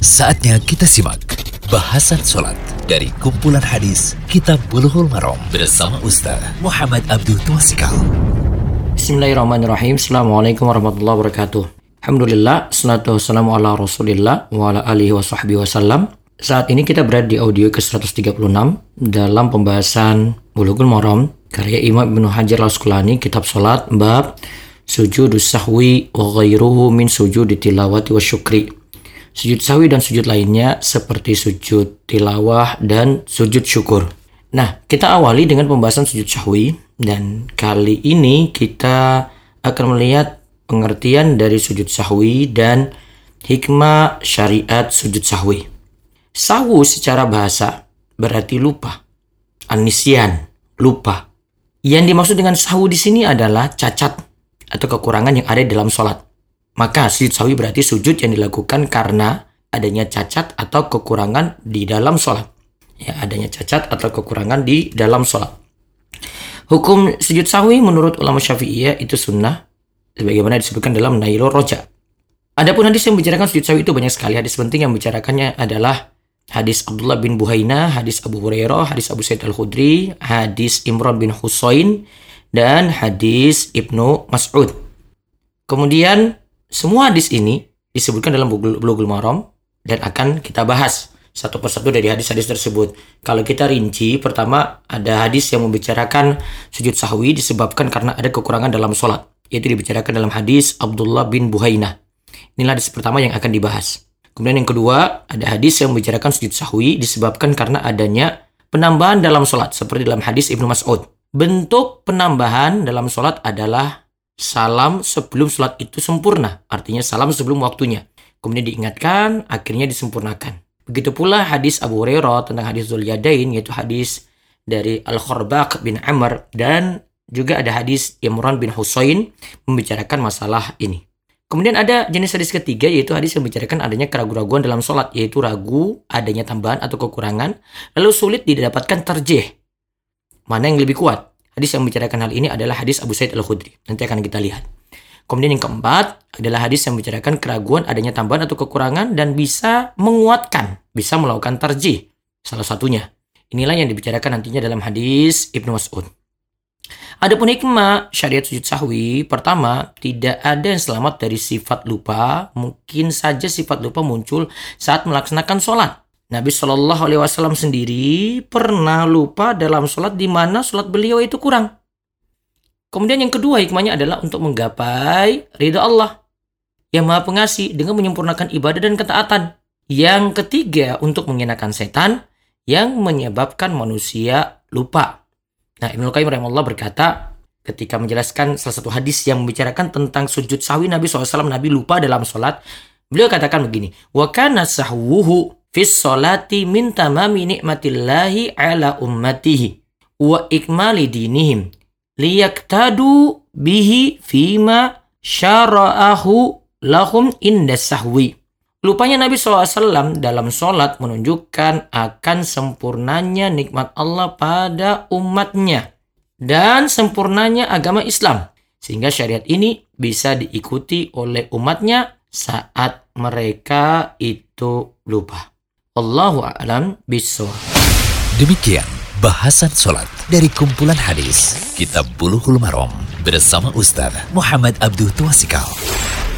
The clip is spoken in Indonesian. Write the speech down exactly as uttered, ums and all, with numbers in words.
Saatnya kita simak bahasan sholat dari kumpulan hadis Kitab Bulughul Maram bersama Ustaz Muhammad Abdul Twasikal. Bismillahirrahmanirrahim. Assalamualaikum warahmatullahi wabarakatuh. Alhamdulillah, salatu wassalamu ala rasulillah wa ala alihi wa sahbihi wasallam. Saat ini kita berada di audio ke seratus tiga puluh enam dalam pembahasan Bulughul Maram karya Imam Ibnu Hajar Al-Asqalani, kitab sholat, bab sujudus sahwi wa ghairuhu min sujudi tilawati wa syukri. Sujud sahwi dan sujud lainnya seperti sujud tilawah dan sujud syukur. Nah, kita awali dengan pembahasan sujud sahwi, dan kali ini kita akan melihat pengertian dari sujud sahwi dan hikmah syariat sujud sahwi. Sahwu secara bahasa berarti lupa, an-nisyan, lupa. Yang dimaksud dengan sahwu di sini adalah cacat atau kekurangan yang ada dalam sholat. Maka sujud sahwi berarti sujud yang dilakukan karena adanya cacat atau kekurangan di dalam sholat. Ya, adanya cacat atau kekurangan di dalam sholat. Hukum sujud sahwi menurut ulama Syafi'iyah itu sunnah, sebagaimana disebutkan dalam Nailur Roja. Adapun hadis yang membicarakan sujud sahwi itu banyak sekali. Hadis penting yang membicarakannya adalah hadis Abdullah bin Buhainah, hadis Abu Hurairah, hadis Abu Sa'id Al-Khudri, hadis Imran bin Husain, dan hadis Ibnu Mas'ud. Kemudian semua hadis ini disebutkan dalam Bulughul Maram dan akan kita bahas satu persatu dari hadis-hadis tersebut. Kalau kita rinci, pertama ada hadis yang membicarakan sujud sahwi disebabkan karena ada kekurangan dalam sholat, yaitu dibicarakan dalam hadis Abdullah bin Buhainah. Inilah hadis pertama yang akan dibahas. Kemudian yang kedua, ada hadis yang membicarakan sujud sahwi disebabkan karena adanya penambahan dalam sholat, seperti dalam hadis Ibnu Mas'ud. Bentuk penambahan dalam sholat adalah salam sebelum sholat itu sempurna, artinya salam sebelum waktunya. Kemudian diingatkan, akhirnya disempurnakan. Begitu pula hadis Abu Hurairah tentang hadis Dzul Yadain, yaitu hadis dari Al-Kharbaq bin Amr, dan juga ada hadis Imran bin Husain membicarakan masalah ini. Kemudian ada jenis hadis ketiga, yaitu hadis yang membicarakan adanya keraguan-keraguan dalam sholat, yaitu ragu adanya tambahan atau kekurangan, lalu sulit didapatkan tarjih. Mana yang lebih kuat? Hadis yang membicarakan hal ini adalah hadis Abu Sa'id Al-Khudri. Nanti akan kita lihat. Kemudian yang keempat adalah hadis yang membicarakan keraguan adanya tambahan atau kekurangan dan bisa menguatkan, bisa melakukan tarjih. Salah satunya. Inilah yang dibicarakan nantinya dalam hadis Ibnu Mas'ud. Adapun hikmah syariat sujud sahwi, pertama, tidak ada yang selamat dari sifat lupa. Mungkin saja sifat lupa muncul saat melaksanakan sholat. Nabi Shallallahu Alaihi Wasallam sendiri pernah lupa dalam sholat di mana sholat beliau itu kurang. Kemudian yang kedua hikmahnya adalah untuk menggapai ridha Allah yang Maha Pengasih dengan menyempurnakan ibadah dan ketaatan. Yang ketiga untuk menghinakan setan yang menyebabkan manusia lupa. Nah, Ibnu Qayyim rahimahullah berkata ketika menjelaskan salah satu hadis yang membicarakan tentang sujud sahwi Nabi shallallahu alaihi wasallam, Nabi lupa dalam sholat. Beliau katakan begini, wa kana sahwuhu fis sholati min tamami ni'matillahi ala ummatihi wa ikmali dinihim liyaktadu bihi fima syara'ahu lahum inda sahwi. Lupanya Nabi shallallahu alaihi wasallam dalam sholat menunjukkan akan sempurnanya nikmat Allah pada umatnya dan sempurnanya agama Islam, sehingga syariat ini bisa diikuti oleh umatnya saat mereka itu lupa. Allahu a'lam bishawab. Demikian bahasan sholat dari kumpulan hadis Kitab Bulughul Maram bersama Ustaz Muhammad Abdul Twasikal.